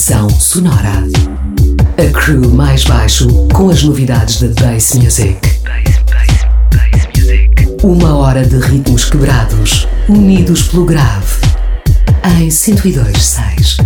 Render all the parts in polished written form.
Pressão sonora. A crew mais baixo com as novidades da Bass Music. Uma hora de ritmos quebrados, unidos pelo grave. Em 102.6.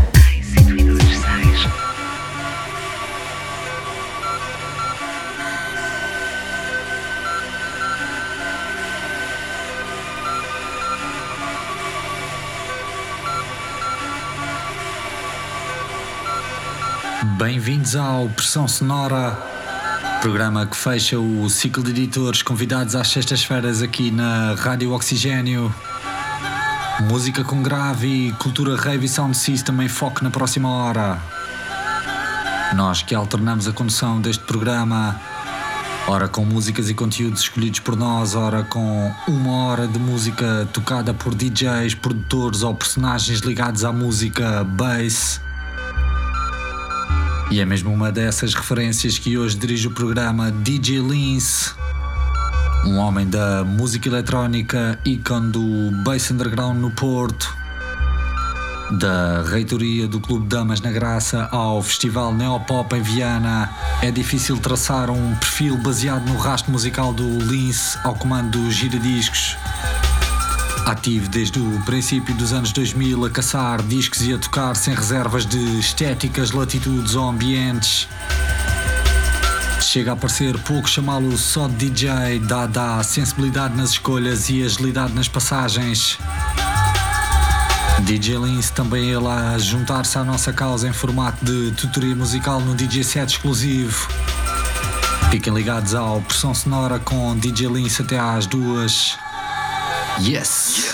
Bem-vindos ao Pressão Sonora, programa que fecha o ciclo de editores convidados às sextas-feiras aqui na Rádio Oxigênio. Música com grave e cultura rave e sound system em foco na próxima hora. Nós que alternamos a condução deste programa, ora com músicas e conteúdos escolhidos por nós, ora com uma hora de música tocada por DJs, produtores ou personagens ligados à música bass. E é mesmo uma dessas referências que hoje dirige o programa DJ Lince, um homem da música eletrónica, ícone do Bass Underground no Porto, da reitoria do Clube Damas na Graça ao Festival Neopop em Viana. É difícil traçar um perfil baseado no rastro musical do Lince ao comando do Giradiscos. Ativo desde o princípio dos anos 2000 a caçar discos e a tocar sem reservas de estéticas, latitudes ou ambientes. Chega a parecer pouco chamá-lo só de DJ, dada a sensibilidade nas escolhas e agilidade nas passagens. DJ Lince também ele a juntar-se à nossa causa em formato de tutoria musical no DJ set exclusivo. Fiquem ligados ao Pressão Sonora com DJ Lince até às 2. Yes!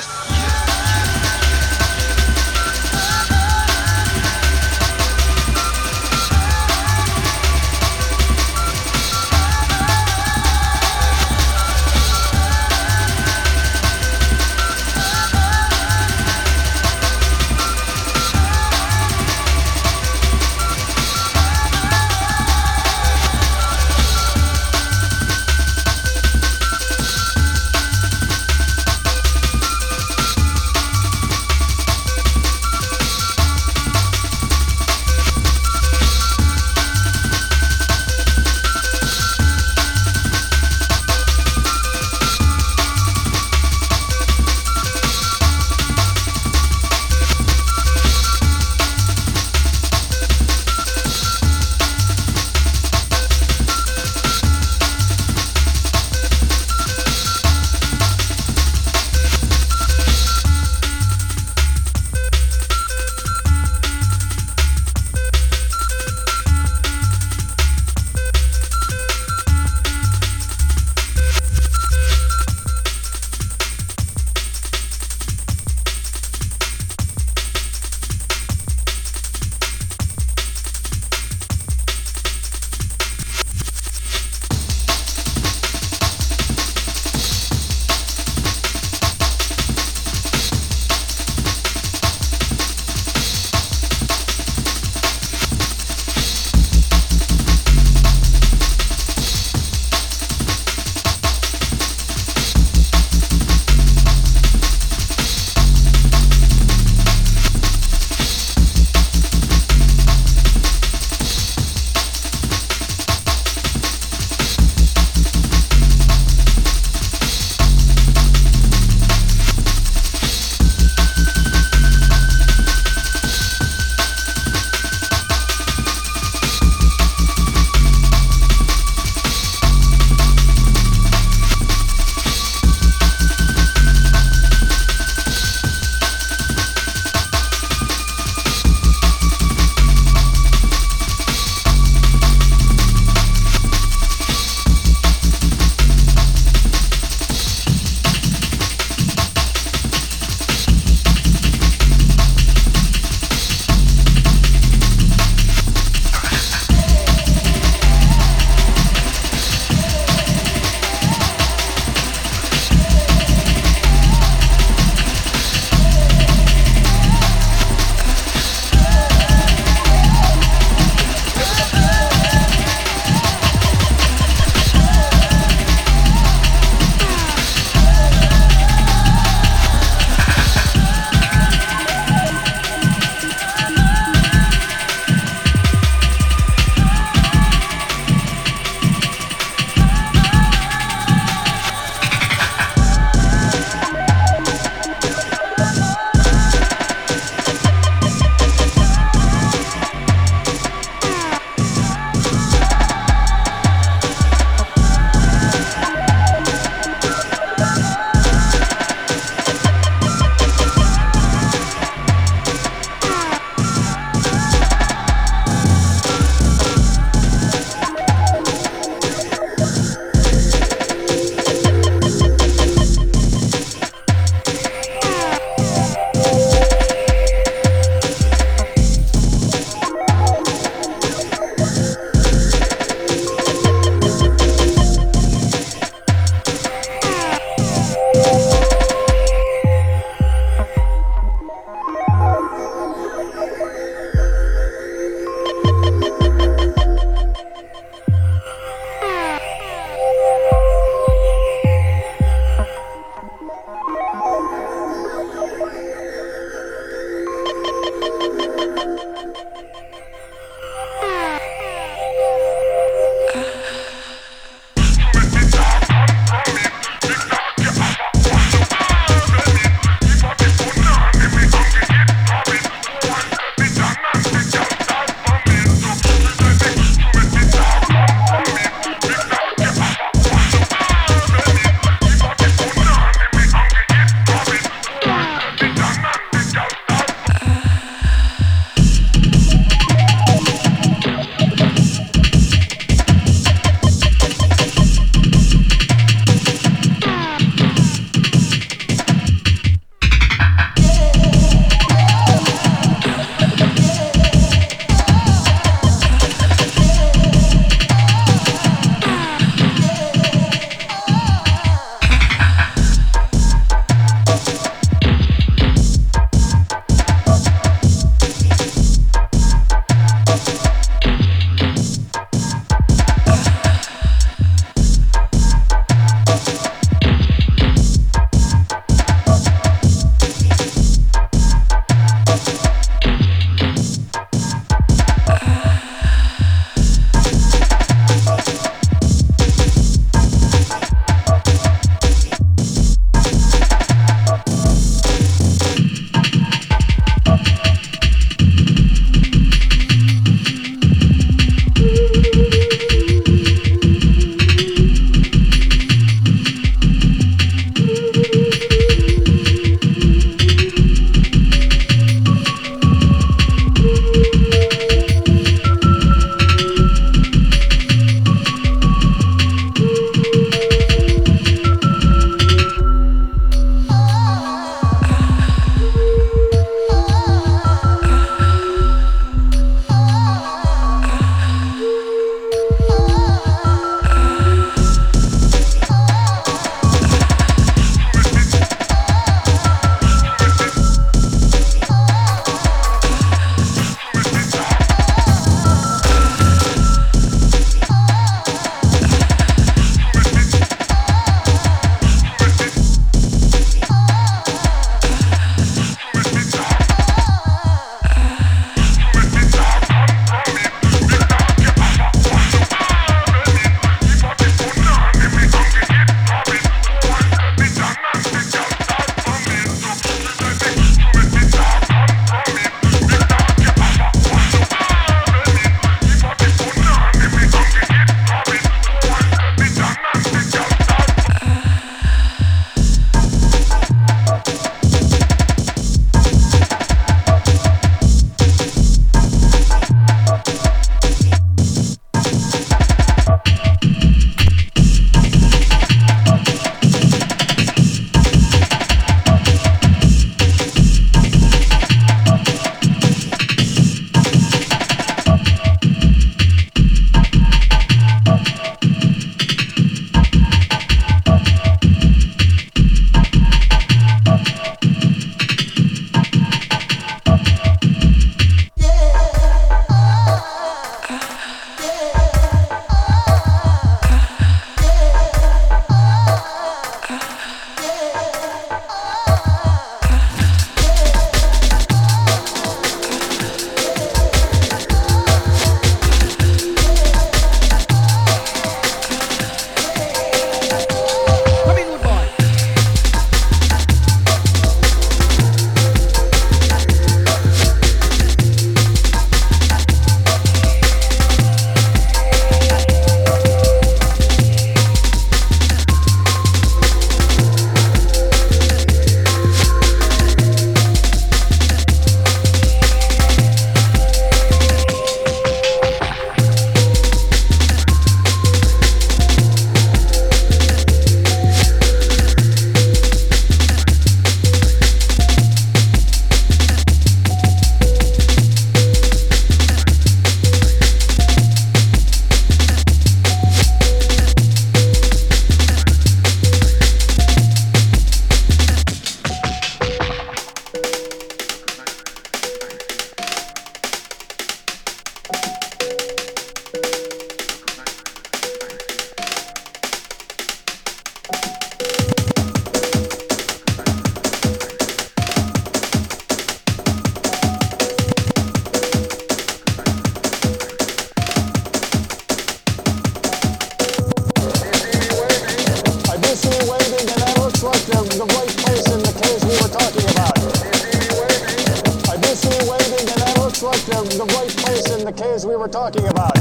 we're talking about.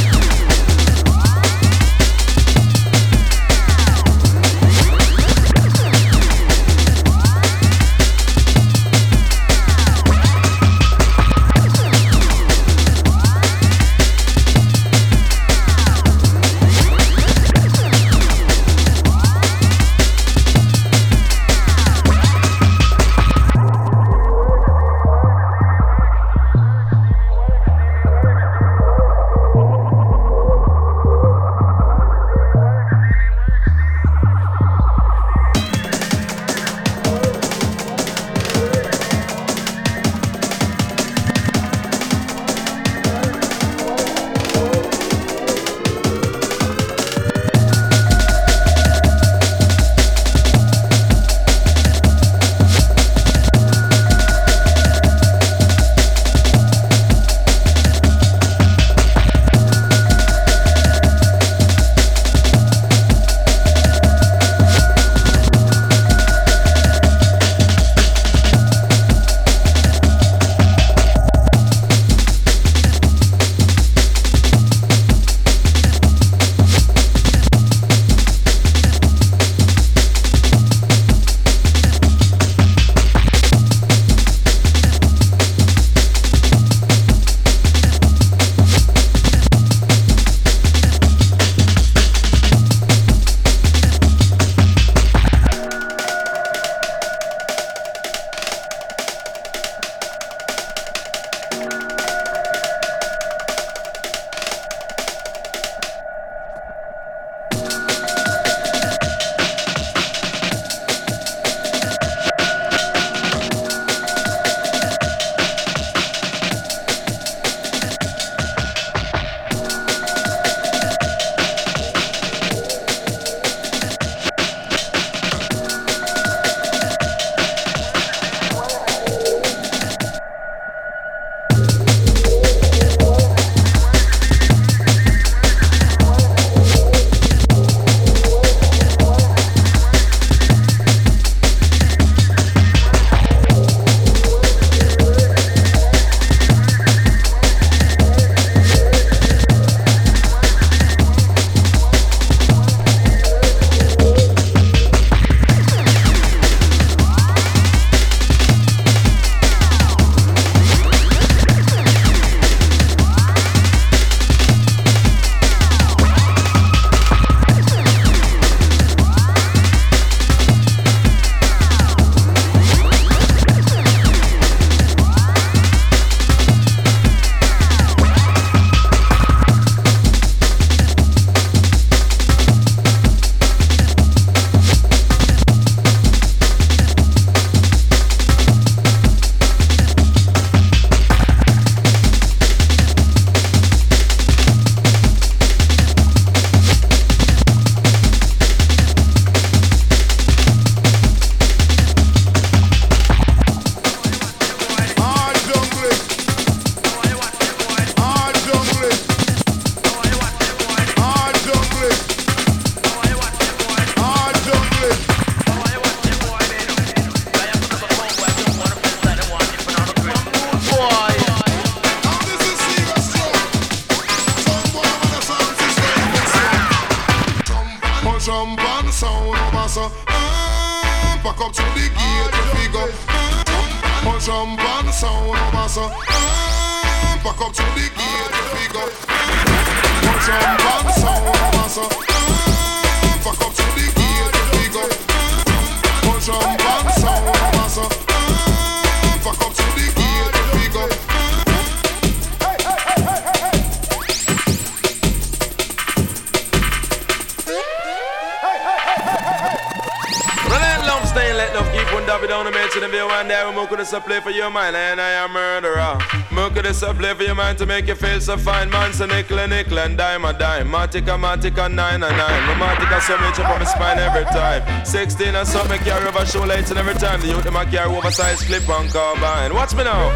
Play for your mind and I am murderer. Milk this a play for your mind to make you feel so fine. Man, so nickel and dime a dime. Matica, 9 and 9. Matica, so much up on my spine every time. 16 and so me carry over shoelaces and every time. The youth them a carry oversized clip on carbine. Watch me now.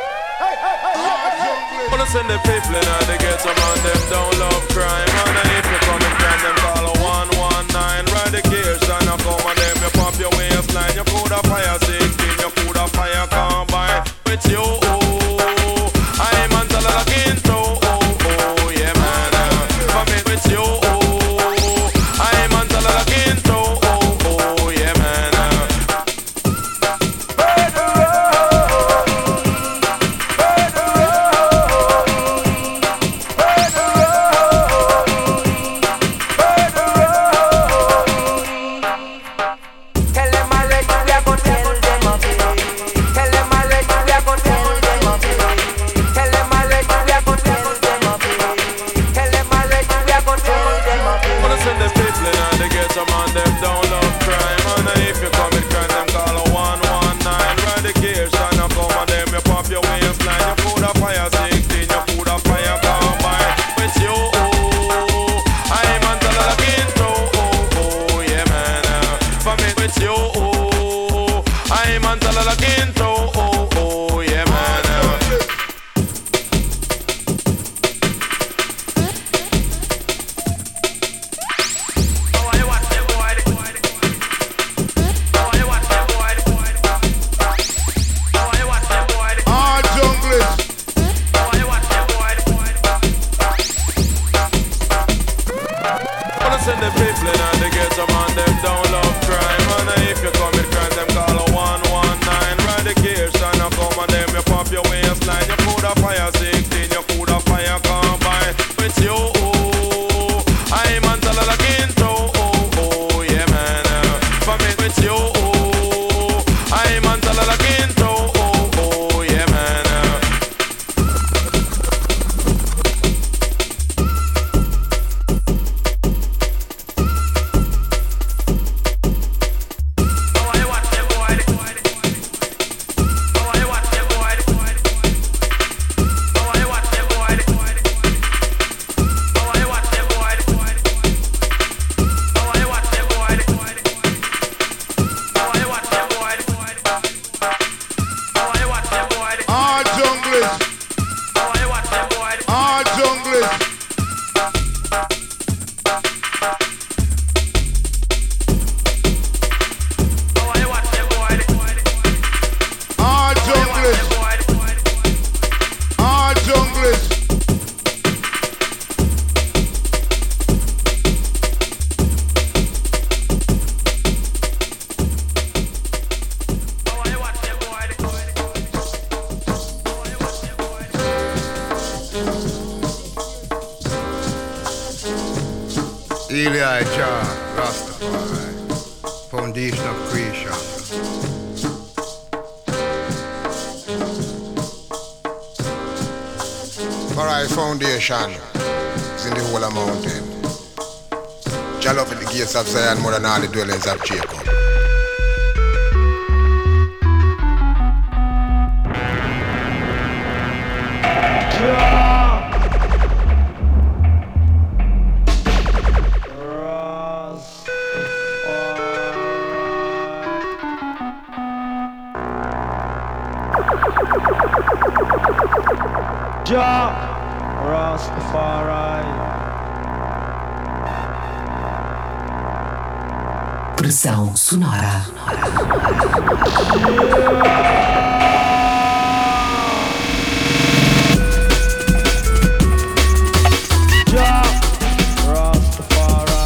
Wanna send the people in and they get some on them don't love crime. And if you come and find them call a 119. Ride the gears and I come on them. You pop your waistline. You put a fire 16. You put a fire combine with you. I'm until I look into. say the people in the ghetto man, them don't love crime. And if you commit crime, them call a 119. Radication, I come and them, you pop your waistline. You could have fire 16, you could have fire combine. With you, I'm on the quinto, yeah man. For me, with you, I'm on the quinto, yeah man. Eli Jah, Rastafari, foundation of creation. Alright, foundation is in the whole of mountain. Jah love at the gates of Zion more than all the dwellings of Jacob. Jah Rastafari. Pressão sonora. Jah Rastafari.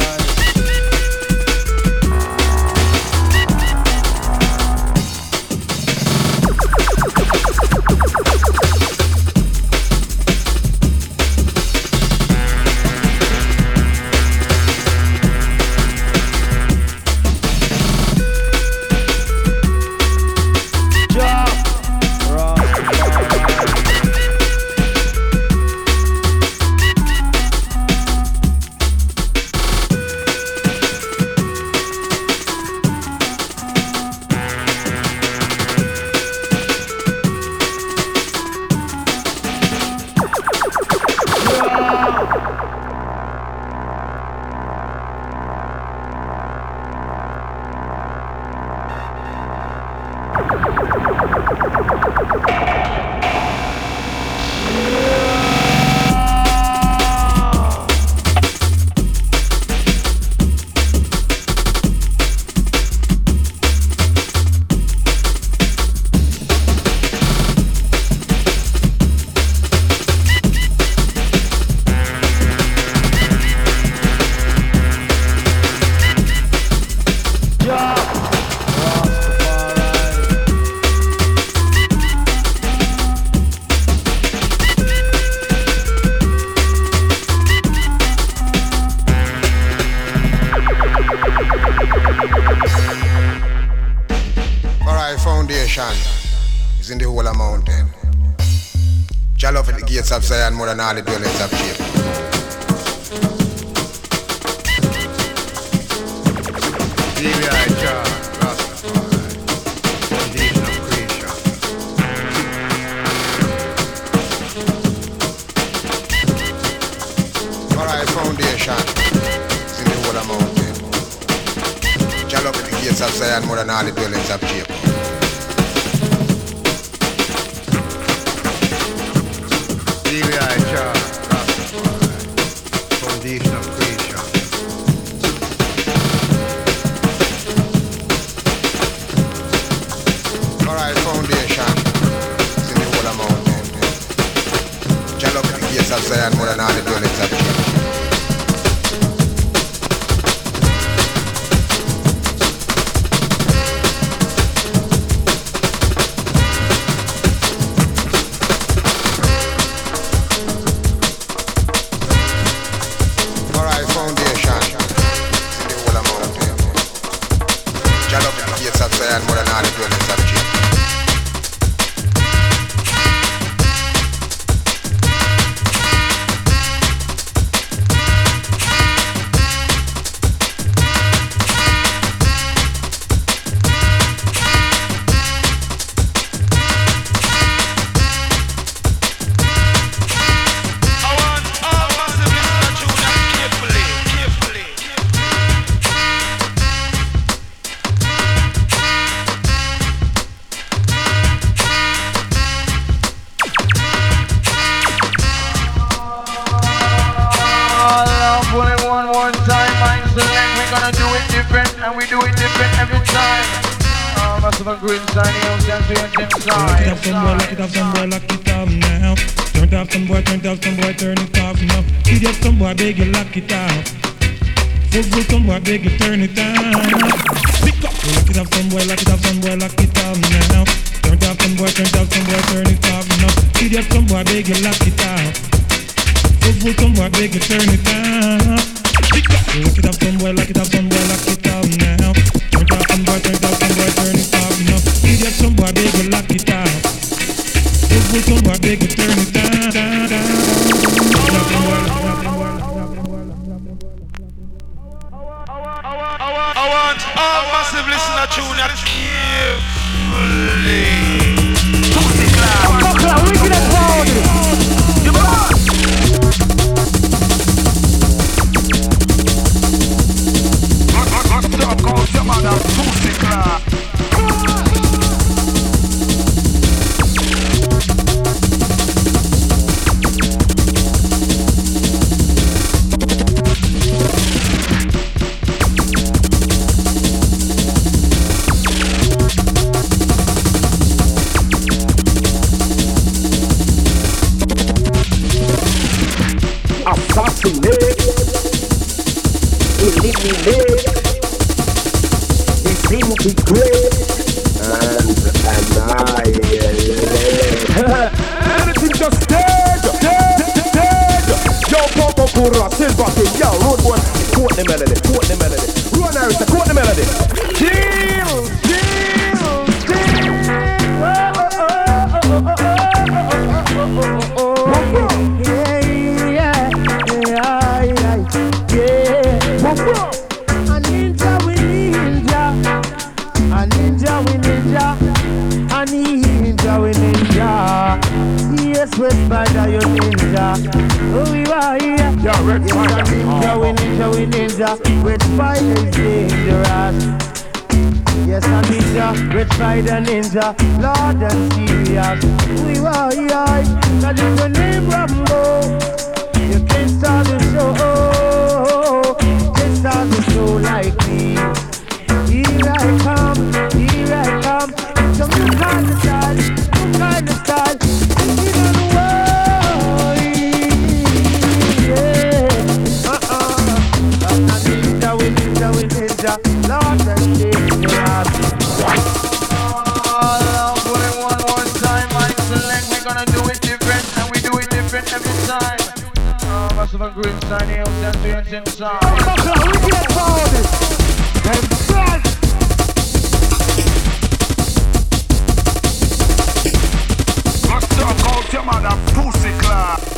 Is in the whole of mountain. Jah love at the gates of Zion more than all the dwellings of Jacob. Eli Jah, Rastafari, foundation of creation. Alright, foundation is in the whole of mountain. Jah love at the gates of Zion more than all the dwellings of Jacob. Eli Jah, Rastafari, foundation of creation. Alright, foundation is in the whole of mountain. Jah love at the gates of Zion more than all the dwellings of Jacob. all the dwellings of Jah. Green sign, lock it off, some boy, lock it off now. Turn it off, some boy, turn it off now. Idiot, some boy, beg you, lock it off. Football, some boy, beg you, turn it down. Pick up, lock it off, some boy, lock it off now. Turn it off, some boy, turn it off now. Idiot, some boy, beg you, lock it off. Football, some boy, beg you, turn it down. Pick up, lock it off, some boy, lock it off now. Turn it off, some boy, turn it off now. Idiot, some boy, beg you, lock it off. Football, some boy, beg you, turn it down. I want all massive listener tune that Lord and serious, we were young. Now just the name Rambo. You can't start the show. Can't start the show like me. Here I come. Some new kind of style. Thinking on the world. Yeah. We ninja. Lord and serious. Of a green sign, he'll send to your inside. We get forward. And back. Let's talk out your mother pussy class.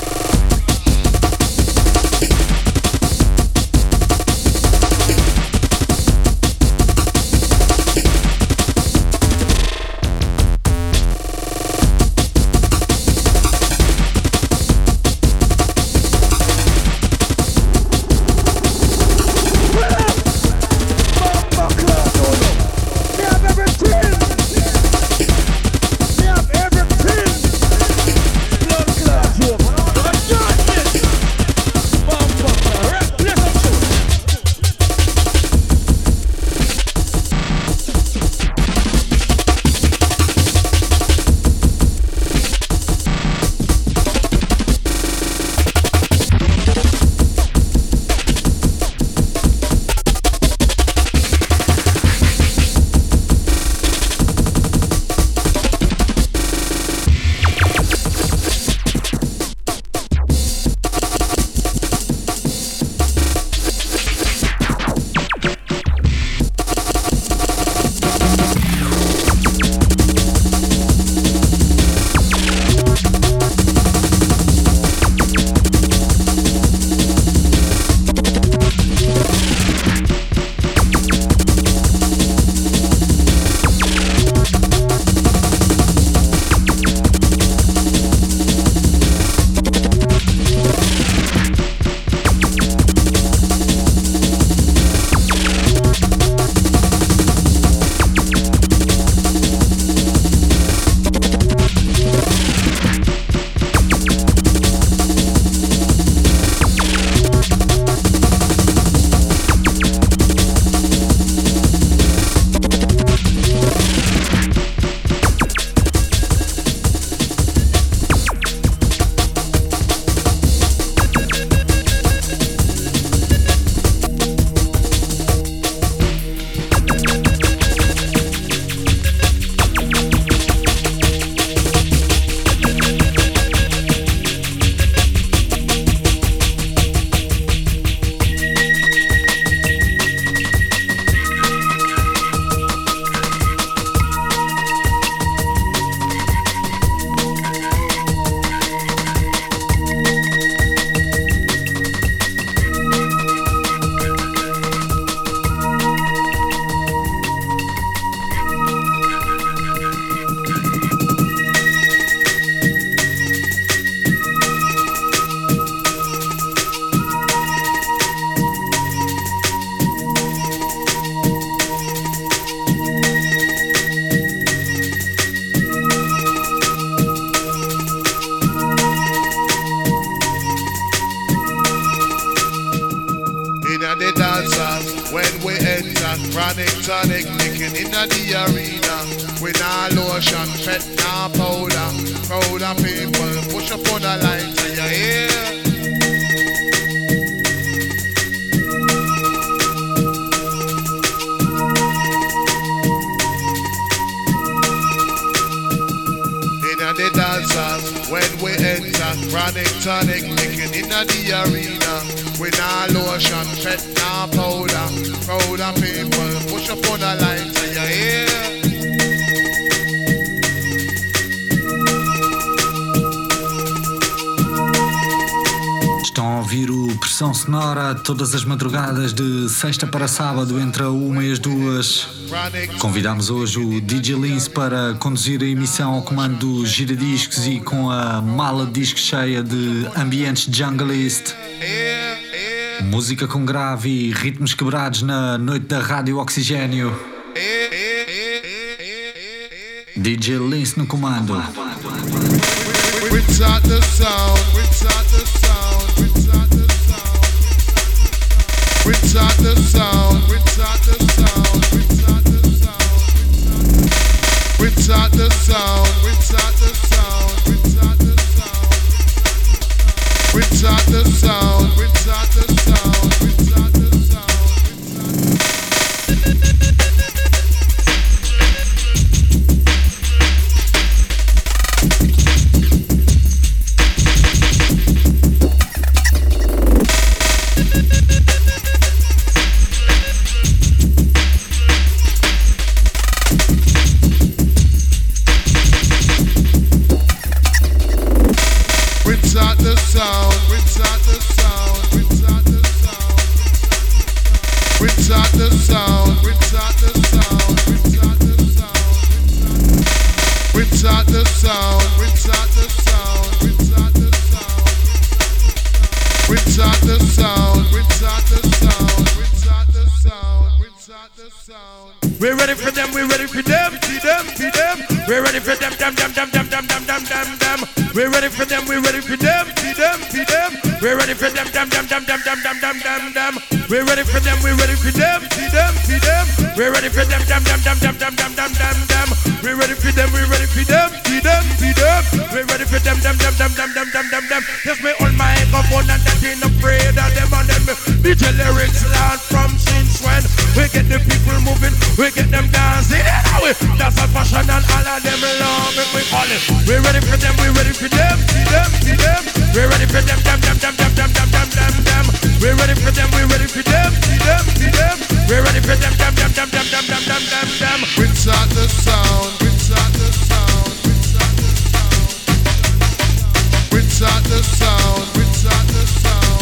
Inna the dancers, when we enter, chronic tonic, licking inna the arena. We nah lotion, fat nah powder. Crowd of people push up on the line to your ear. Inna the dancers, when we enter, chronic tonic, licking inna the arena. We nah lotion, fat nah powder. Crowd of people push up on the line to your ear. Estão a ouvir o Pressão Sonora todas as madrugadas de sexta para sábado entre a 1 e as 2. Convidamos hoje o DJ Lince para conduzir a emissão ao comando do Giradiscos e com a mala de disco cheia de ambientes junglist. Música com grave e ritmos quebrados na noite da Rádio Oxigênio. DJ Lince no comando. We're ready for them, we're ready for them, see them, see them. We're ready for them, them. We're ready for them, we're ready for them, see them, see them. We're ready for them, them. We're ready for them, we're ready for them, see them, see them. We're ready for them, them. We're ready for them, we're ready for them, see them, see them. We're ready for them, them. Just me on my microphone and that ain't afraid of them and them. DJ lyrics land from since when we get the people moving, we get them dancing. That's a fashion and all of them love it, we call it. We're ready for them, we're ready for them, see them, see them. We're ready for them, them. We're ready for them, we're ready for them, see them, see them. We're ready for them, them. Inside the sound, inside the sound, inside the sound, inside the sound,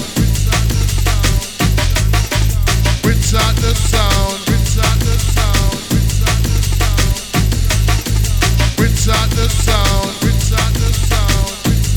inside the sound, inside the sound, inside the sound, inside the sound, inside the sound.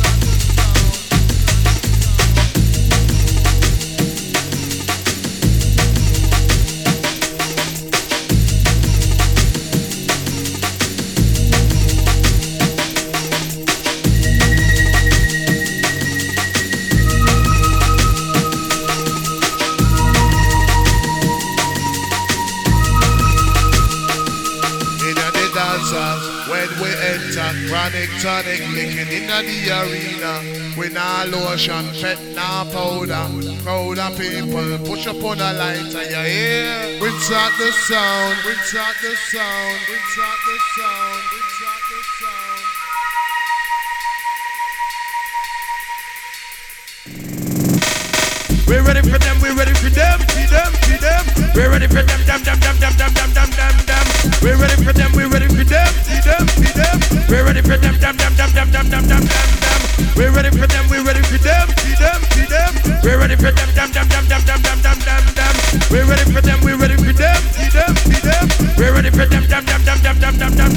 Chronic tonic licking inna the arena. We nah lotion, fat nah powder. Crowd of people push up on the line to your ear. Rinse out the sound, rinse out the sound, rinse out the sound, rinse out the sound. We're ready for them, we're ready for them, see them, see them. We're ready for them, them. We're ready for them, we're ready for them, see them, see them. We're ready for them, them. We're ready for them, we're ready for them, see them, see them. We're ready for them, them. We're ready for them, we're ready for them, see them, see them. We're ready for them, them.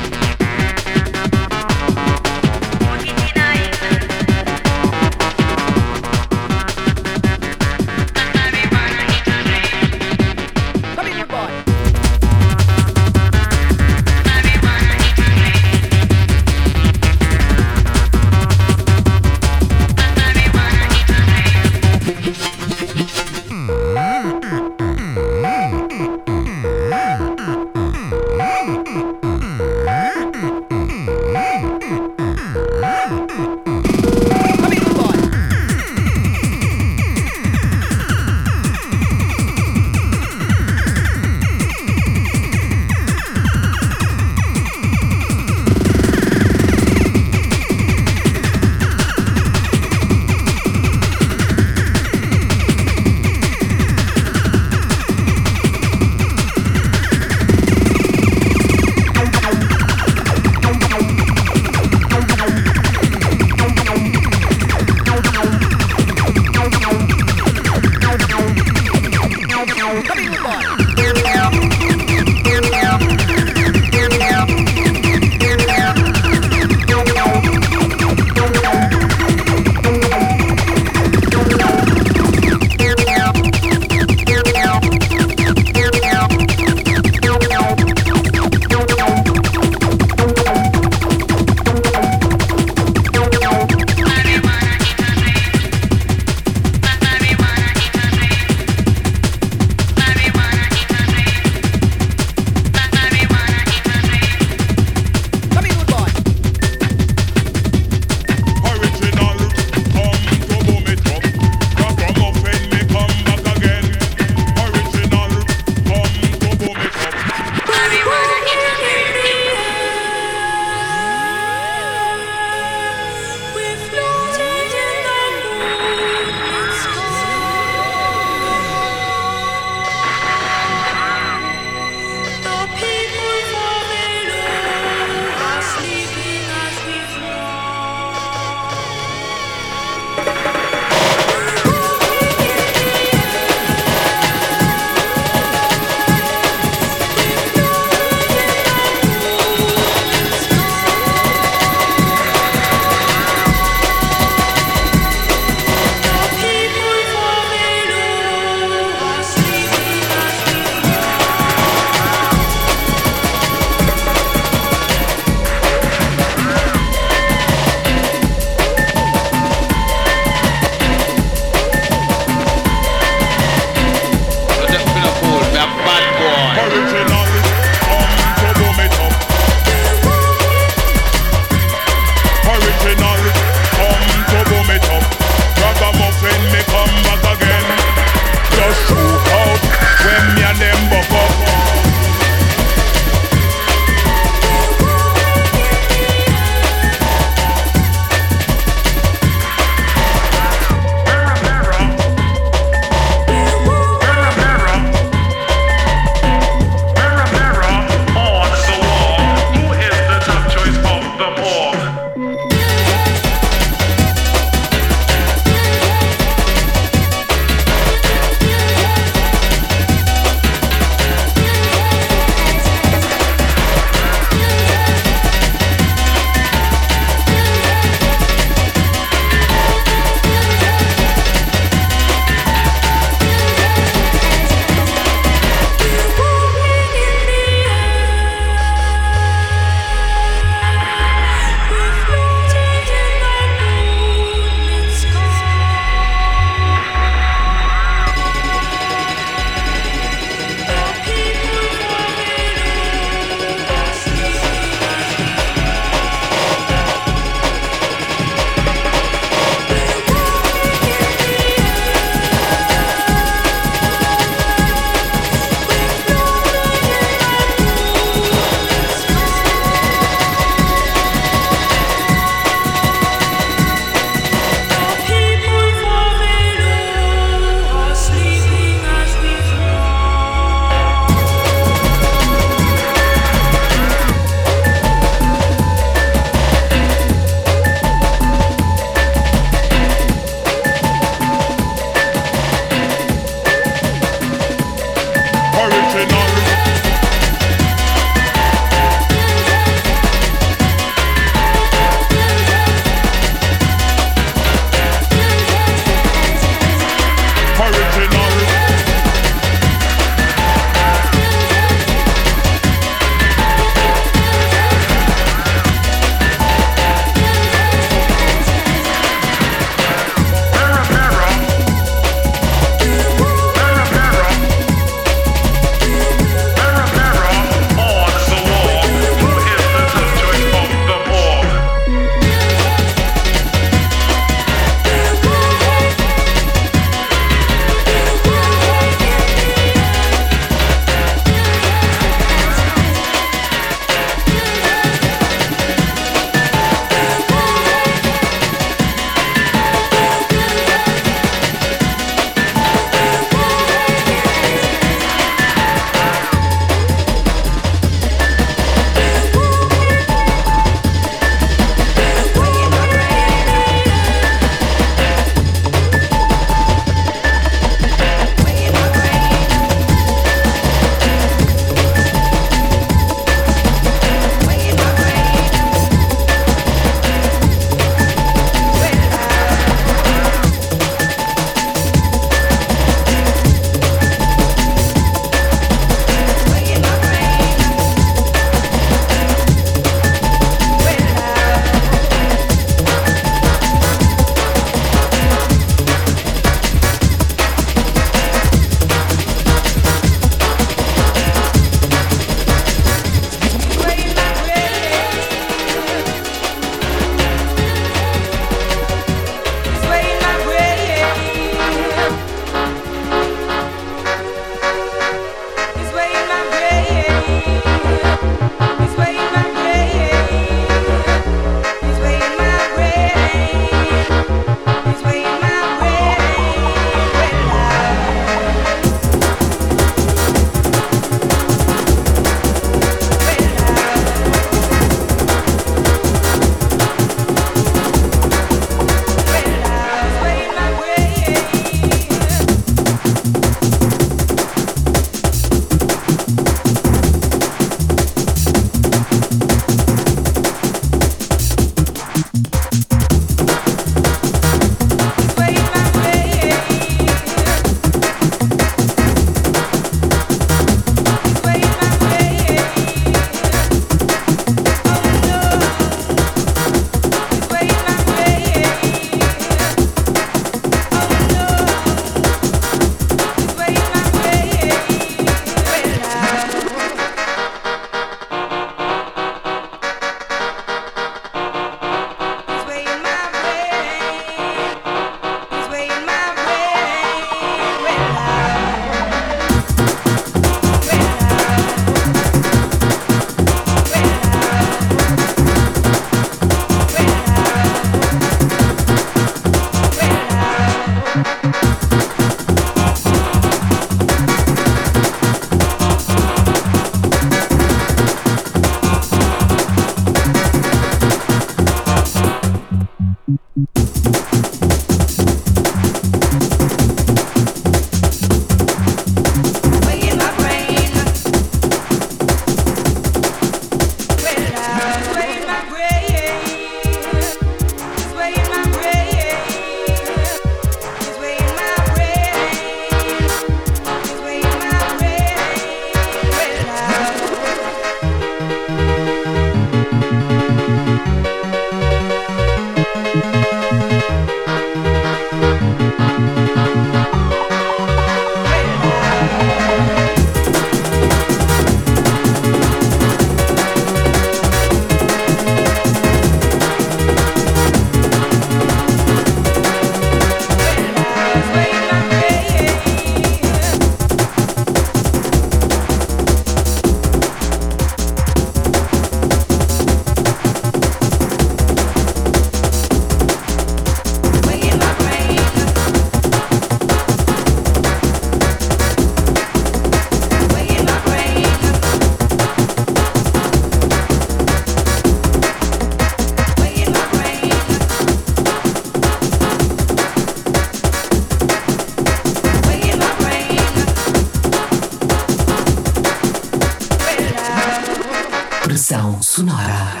Sonora.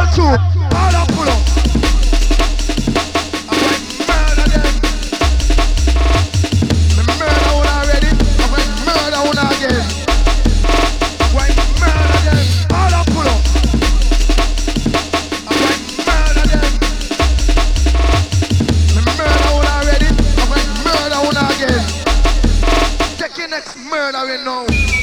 two, all up pull up. I'm going to murder them. Me murder one already, I'm going to murder one again. I'm going to murder them, all up pull up. I'm going to murder them. Me murder one already, I'm going to murder one again. Take your next murdering now.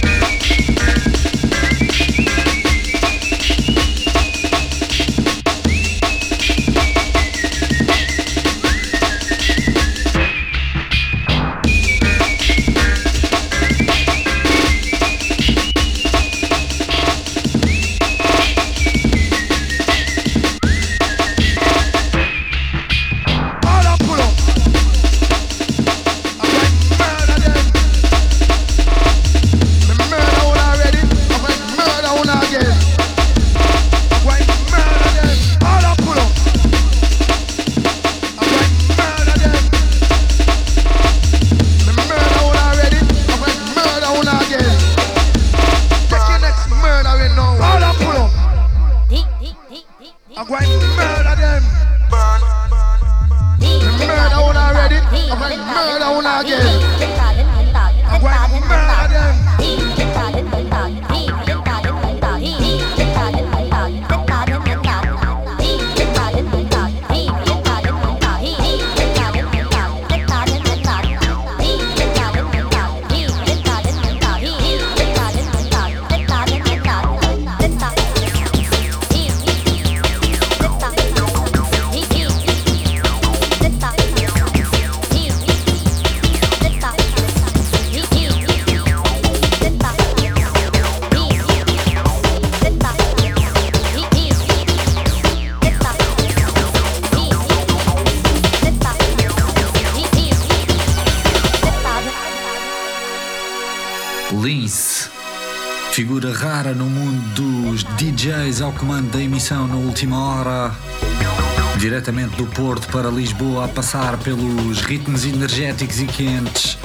Lince, figura rara no mundo dos DJs ao comando da emissão na última hora, diretamente do Porto para Lisboa, a passar pelos ritmos energéticos e quentes,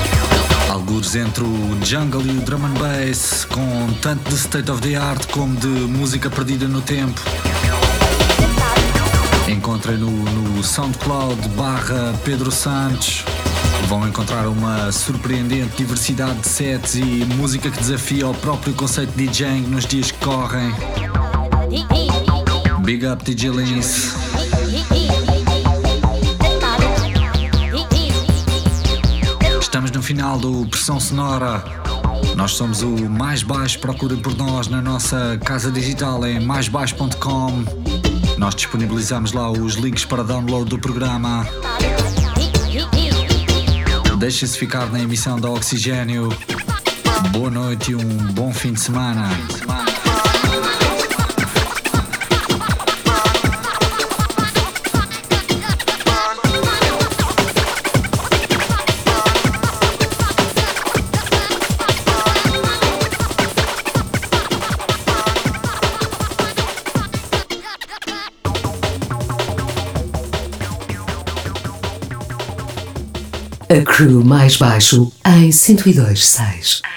algures entre o jungle e o drum and bass, com tanto de state of the art como de música perdida no tempo. Encontrem no SoundCloud /Pedro Santos. Vão encontrar uma surpreendente diversidade de sets e música que desafia o próprio conceito de DJing nos dias que correm. Big up DJ Lince. Estamos no final do Pressão Sonora. Nós somos o Mais Baixo, procurem por nós na nossa casa digital em maisbaixo.com. Nós disponibilizamos lá os links para download do programa. Deixem-se ficar na emissão da Oxigênio. Boa noite e um bom fim de semana. A Crew Mais Baixo em 102.6.